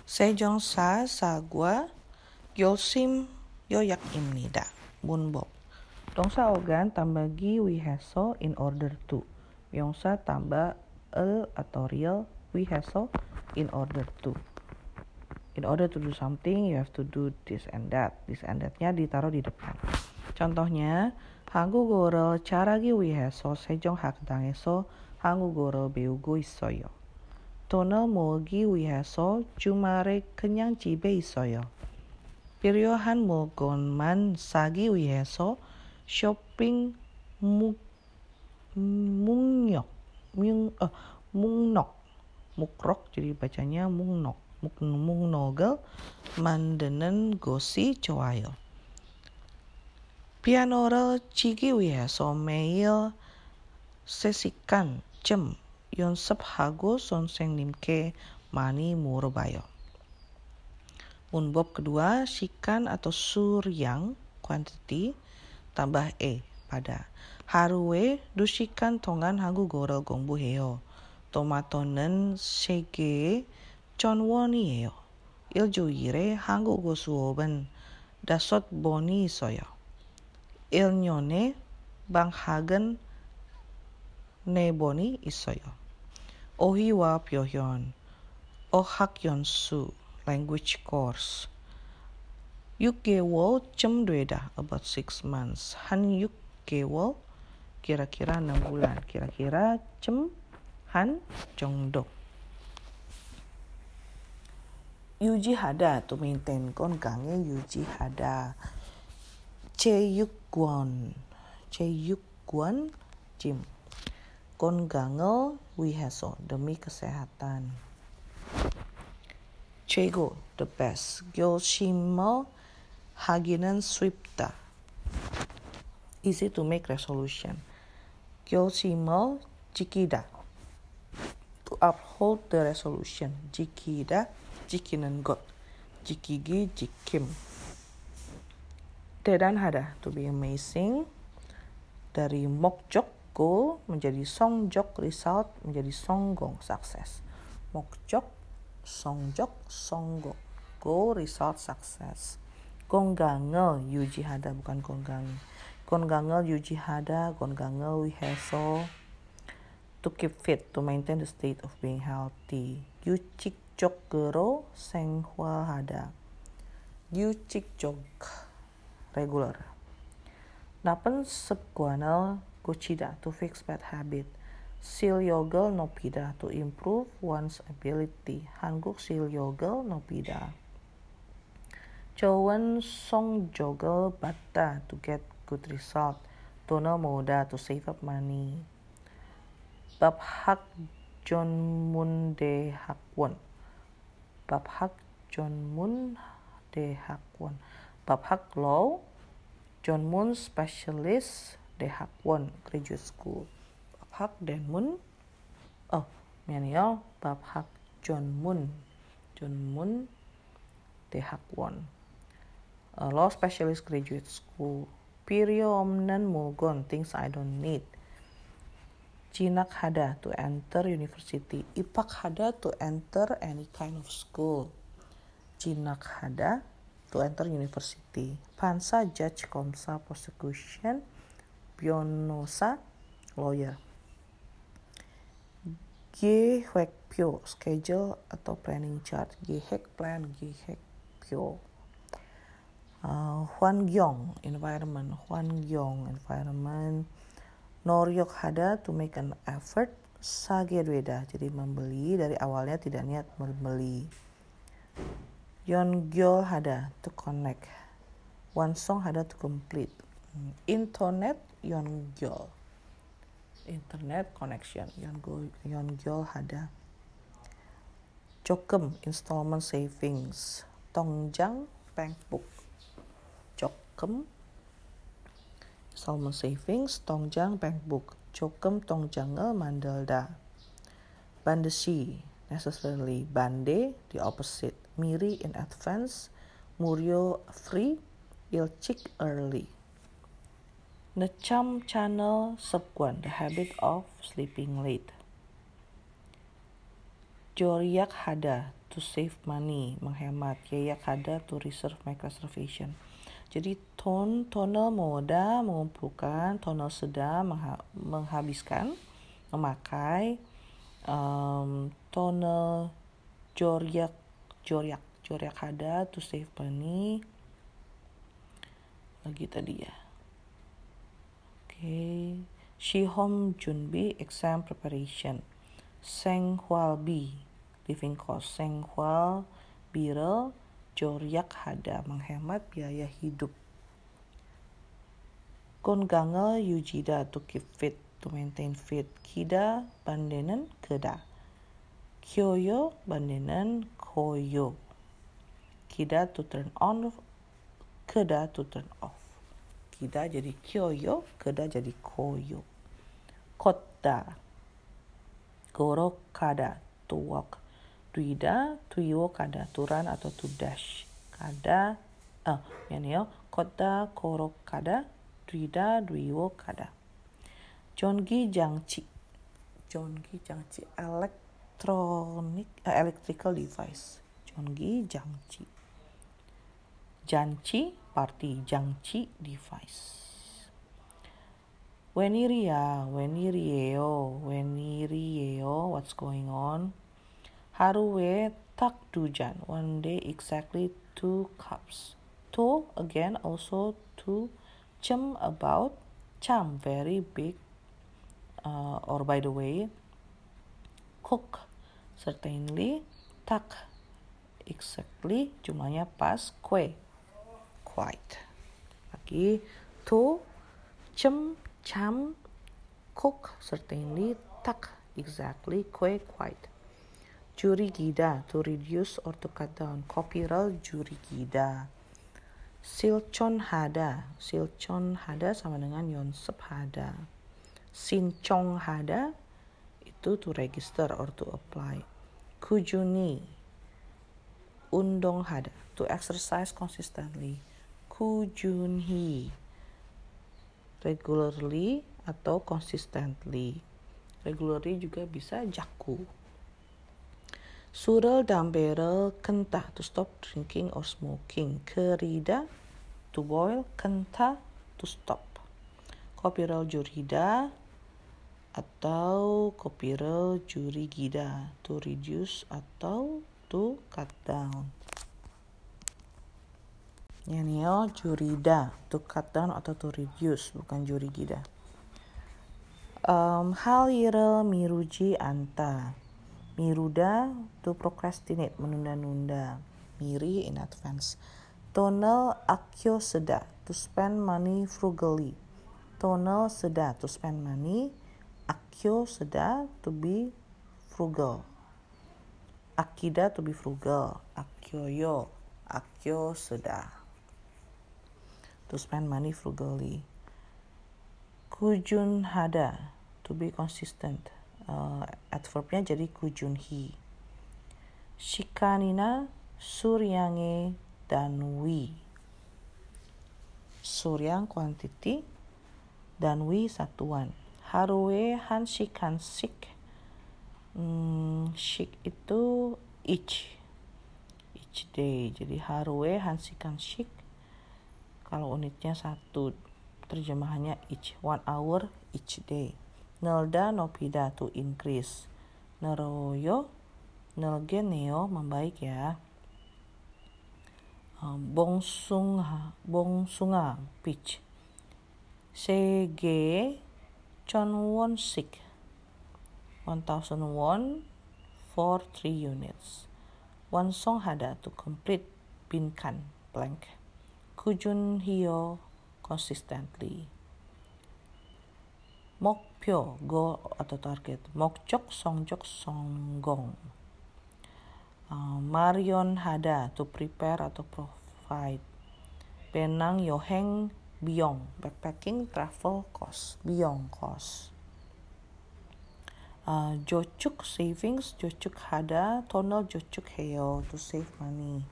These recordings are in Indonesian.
세종사 사과 요심 요약입니다. 문법. 동사 organ tambah gi wiheso in order to. 명사 tambah el atau real wiheso in order to. In order to do something, you have to do this and that. This and that-nya ditaruh di depan. Contohnya, 한국어를 잘하기 위해서 세종 학당에서 한국어를 배우고 있어요. 돈을 모으기 위해서 주말에 그냥 집에 있어요. 필요한 물건만 사기 위해서 쇼핑 mukrok jadi bacanya muknogel 만드는 것이 좋아요. 피아노를 치기 위해서 매일 3시간쯤 연습하고 선생님께 많이 물어봐요. 문법 kedua, 시간 atau suryang quantity tambah pada. 하루에 2시간 동안 한국어를 공부해요. 토마토는 3개에 1,000원이에요. 일주일에 한국어 수업은 5번이 있어요. 1년에 방학은 4번이 있어요. 어휘와 표현, 어학연수, language course. 6개월쯤 되다, about 6 months. 한 6개월, kira-kira 6 bulan. Kira-kira 한 정도. 유지하다, to maintain 건강을 유지하다. 체육관, gym. 건강을 위해서, demi kesehatan. 최고, the best. 결심을 하기는 쉽다. Easy to make resolution. 결심을 지키다. To uphold the resolution. 지키다, 지키는 것. 지키기, 지킴. 대단하다, to be amazing. Dari 목적, goal, menjadi 성적, result, menjadi 성공, success. 목적, 성적, 성공. Goal, result, success. 건강을 유지하다, bukan 건강. 건강을 유지하다, 건강을 위해서. To keep fit, to maintain the state of being healthy. 규칙적으로 생활하다. 규칙적, regular. 나쁜 습관을 고치다, to fix bad habit. 실력을 높이다, to improve one's ability. 한국 실력을 높이다. 좋은 성적을 받다, to get good result. 돈을 모으다, to save up money. 밥학 전문대학원. 밥학 전문대학원. 밥학 law. 전문 specialist 대학원, graduate school. 밥학 대문. 밥학 전문 대학원. Law specialist graduate school. 필요 없는 물건, things I don't need. 진학하다, to enter university. 입학하다, to enter any kind of school. 진학하다, to enter university. 판사, judge, 검사, prosecution. 변호사, lawyer. 계획표, schedule atau planning chart. 계획, plan, 계획표. 환경, environment. 환경, environment. 노력하다, to make an effort. 사게 되다, jadi membeli. Dari awalnya tidak niat membeli. 연결하다, to connect. 완성하다, to complete. Internet, 연결. Internet connection, 연결하다. 조금, installment savings. 통장, bank book. 조금, installment savings, 통장, bank book. 조금 통장을 만들다. 반드시, necessarily. 반대, the opposite. 미리, in advance. 무료, free. 일찍, early. Necam channel 습관, the habit of sleeping late. Joryak hada, to save money, menghemat. Yeyak hada, to reserve, make reservation. Jadi tonal moda mengumpulkan, tonal seda menghabiskan, memakai, tonal joryak hada, to save money. Lagi tadi ya. Okay. Shihom junbi, exam preparation. Seng hwal bi, living cost. Seng hwal biro, joryak hada, menghemat biaya hidup. Kongangal yujida, to keep fit, to maintain fit. Kida bandenen keda. Kyoyo bandenen koyo. Kida to turn on, keda to turn off. Kida jadi kyoyo, keda jadi koyo. Kotta, goro kada, to walk. Duida, to yo kada, to run atau to dash. Kada, kotta, koro kada, duida, duiwo kada. Jongi jangchi, electrical device. Jongi jangchi. Janchi, party. Jangchi, device. Wenirieo, what's going on? Haruwe tak dujan, one day exactly 2 cups. To, again, also to. Chem, about. Cham, very big. Or by the way. Cook, certainly. Tak, exactly. Jumlahnya pas. Kue, quite. Lagi. To, chem, cham, cook, certainly. Tak, exactly. Kue, quite. Juri gida, to reduce or to cut down. Kopiral juri gida. Silchon hada sama dengan yonsep hada. Sinchong hada, itu to register or to apply. Kujuni, undong hada, to exercise consistently. Kujunhi, regularly atau consistently. Regularly juga bisa jaku. Surel dan barrel, kentah, to stop drinking or smoking. Kerida, to boil. Kentah, to stop. Kopirel jurida atau kopirel jurigida, to reduce atau to cut down. Yanio jurida, to cut down atau to reduce, bukan jurigida. Halirel miruji anta. Miruda, to procrastinate, menunda-nunda. Miri, in advance. Tonal akyo seda, to spend money frugally. Tonal seda, to spend money. Akyo seda, to be frugal. Akida, to be frugal. Akyoyo, akyo seda, to spend money frugally. Kujun hada, to be consistent. Adverbnya jadi kujunhi. Shikanina, suryange danwi. Suryang quantity, danwi satuan. Haruwe hanshikan shik. Shik itu each day. Jadi haruwe hanshikan shik. Kalau unitnya 1, terjemahannya each. 1 hour each day. Nelda nopida, to increase. Neroyo, nelge neo, membaik ya. Bongsunga, pitch. Sege, chonwon sik. 1,000 won for 3 units. Wansong hada, to complete. Binkan, blank. Kujun hyo, consistently. Mokpyo, goal atau target. Mokjok, songjok, songgong. Marion hada, to prepare atau provide. Penang yoheng biyong, backpacking, travel cost, biyong cost. Jocuk, savings, jocuk hada, tonal jocuk heyo, to save money.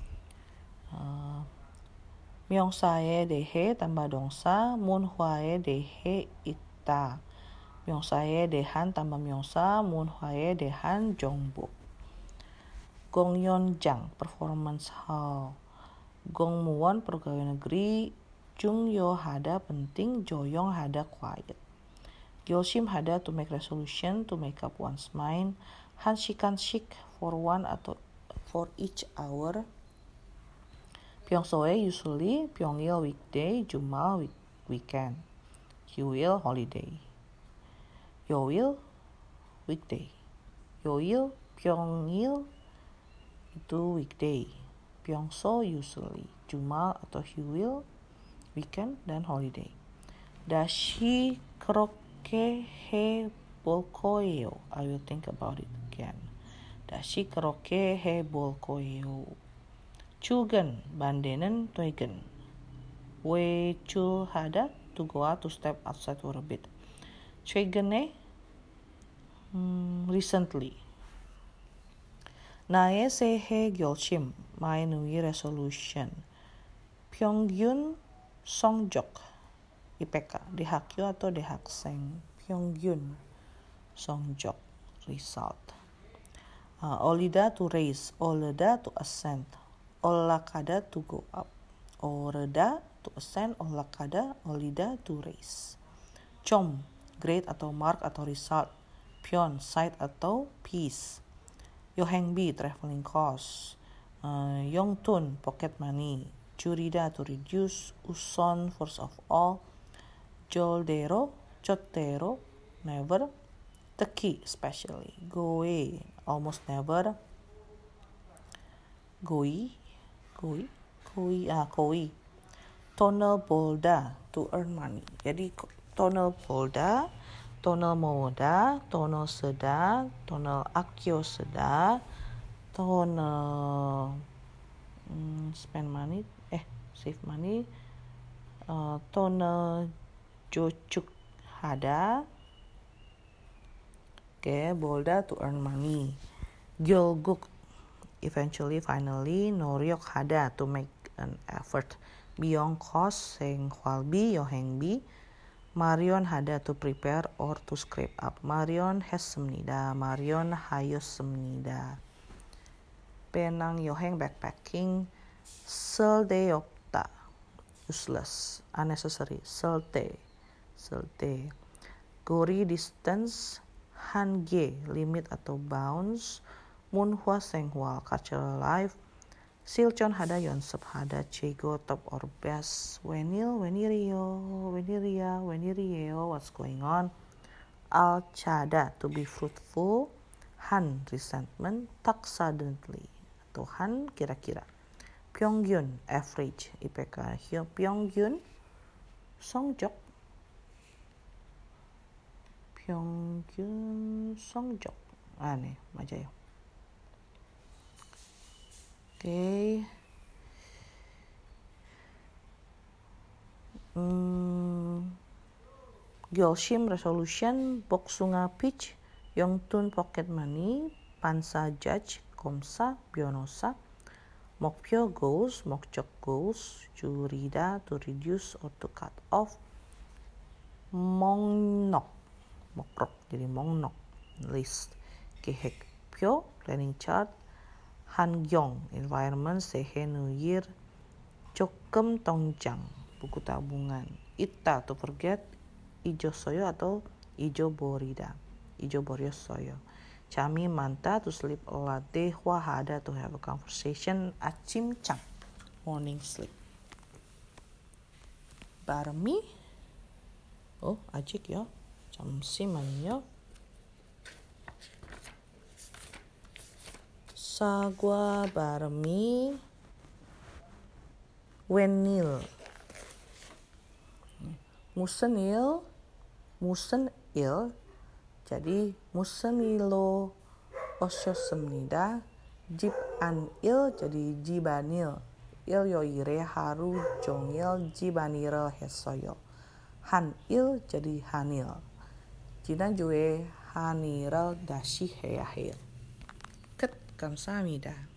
Myongsae dehe tambah dongsa, munhwae dehe ita. Myongsae dehan tambah myongsa, munhwae dehan jongbuk. Gongyonjang performance hall. Gongmuwon pegawai negeri. Jungyo hada penting, Joyong hada quiet. Gyeosim hada to make resolution, to make up one's mind. Hanshikanshik for one atau for each hour. Pyeongsoe usually, Pyongyil weekday, Jumal weekend. Hyuil holiday. Yoil weekday. Yoil Pyongyil itu weekday. Pyeongso usually, Jumal atau Hyuil weekend dan holiday. Dashi kroke he bolkoeo. I will think about it again. Dashi kroke he bolkoeo. Chugen bandenen toigen. Wechul hada to go out, to step outside for a bit. Chegene recently. 나의 새해 결심, my new year resolution. 평균 성적, IPK, 대학교 atau 대학생. 평균 성적, result. 올리다 to raise, 오르다 to ascend. 올라가다 to go up. 오르다 to ascend, 올라가다, 올리다 to raise. 점, grade atau mark atau result. Pyeon, site atau piece. Yohengbi, traveling cost. Yongtun, pocket money. Jurida, to reduce. Uson, first of all. Joldero, never. Teki, especially. Goe, almost never. Koi. Tonal bolda, to earn money. Jadi tonal bolda, tonal moda, tonal seda, tonal akyo seda, tonal spend money, save money, tonal jochuk hada. Bolda to earn money. Gyolguk, eventually, finally. Noryok hada, to make an effort. Beyond cost, seng hwalbi, yohengbi. Marion hada, to prepare or to scrape up. Marion 했습니다. Marion 하였습니다. Penang yoheng, backpacking. 쓸데없다, useless, unnecessary. 쓸데. Gori, distance. 한계, limit atau bounds. Munhwa senghwa, cultural life. Silchon hada, yonsep hada. Chego, top or best. Wenirio, what's going on? Alchada, to be fruitful. Han, resentment. Tak suddenly, atau han, kira-kira. Pyongyun, average, IPK. Pyongyun, 성적. 평균 성적. 네, 맞아요. 오케이. 결심, resolution. 복숭아, peach. 영돈, pocket money. 판사, judge. 검사, 변호사. 목표, goals. 목적, goals. 줄이다, to reduce or to cut off. Mokrok, jadi mongnok, list. 계획표, planning chart. 한경, environment. 새해 new year. 조금 통장, buku tabungan. Ita, to forget. 이조소요 atau 이조버리다, 이조버렸어요. 잠이 많다, to sleep a lot. 대화 hada, to have a conversation. 아침잠, morning sleep. 바람이, 아직요. 잠시만요. 사과 바람이 웬일. 무슨 일. jadi 무슨 일로 오셨습니다. 집 안일, jadi 집안일. 일요일에 하루 종일 집안일을 했어요. 한일, jadi 한일. 지난주에 한일을 다시 해야 해요. 끝. 감사합니다.